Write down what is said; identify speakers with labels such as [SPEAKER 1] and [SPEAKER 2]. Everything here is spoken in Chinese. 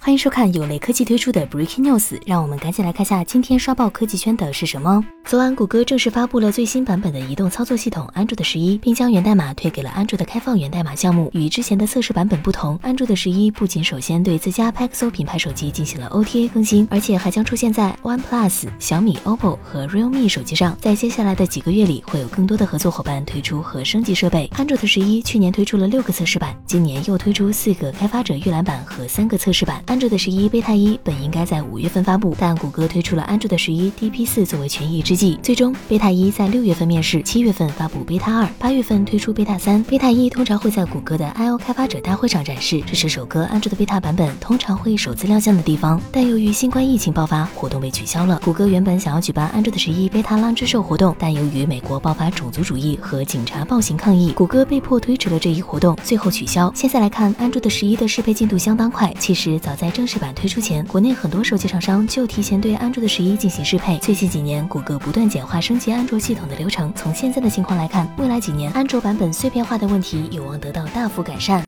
[SPEAKER 1] 欢迎收看有雷科技推出的 Breaking News， 让我们赶紧来看下今天刷爆科技圈的是什么。昨晚，谷歌正式发布了最新版本的移动操作系统 Android 11，并将源代码推给了 Android 的开放源代码项目。与之前的测试版本不同 ，Android 11不仅首先对自家 Pixel 品牌手机进行了 OTA 更新，而且还将出现在 OnePlus、小米、OPPO 和 Realme 手机上。在接下来的几个月里，会有更多的合作伙伴推出和升级设备。Android 11去年推出了6个测试版，今年又推出4个开发者预览版和3个测试版。Android 11 Beta 1本应该在5月份发布，但谷歌推出了 Android 11 DP4 作为权宜之计，最终 Beta 1在6月份面世，7月份发布 Beta 2， 8月份推出 Beta 3。Beta 1通常会在谷歌的 I/O 开发者大会上展示，这是首个 Android Beta 版本通常会首次亮相的地方。但由于新冠疫情爆发，活动被取消了。谷歌原本想要举办 Android 11 Beta Launch Show 活动，但由于美国爆发种族主义和警察暴行抗议，谷歌被迫推迟了这一活动，最后取消。现在来看 Android 11的适配进度相当快，其实早在正式版推出前，国内很多手机厂商就提前对 Android 11进行适配。最近几年，谷歌不断简化升级安卓系统的流程，从现在的情况来看，未来几年安卓版本碎片化的问题有望得到大幅改善。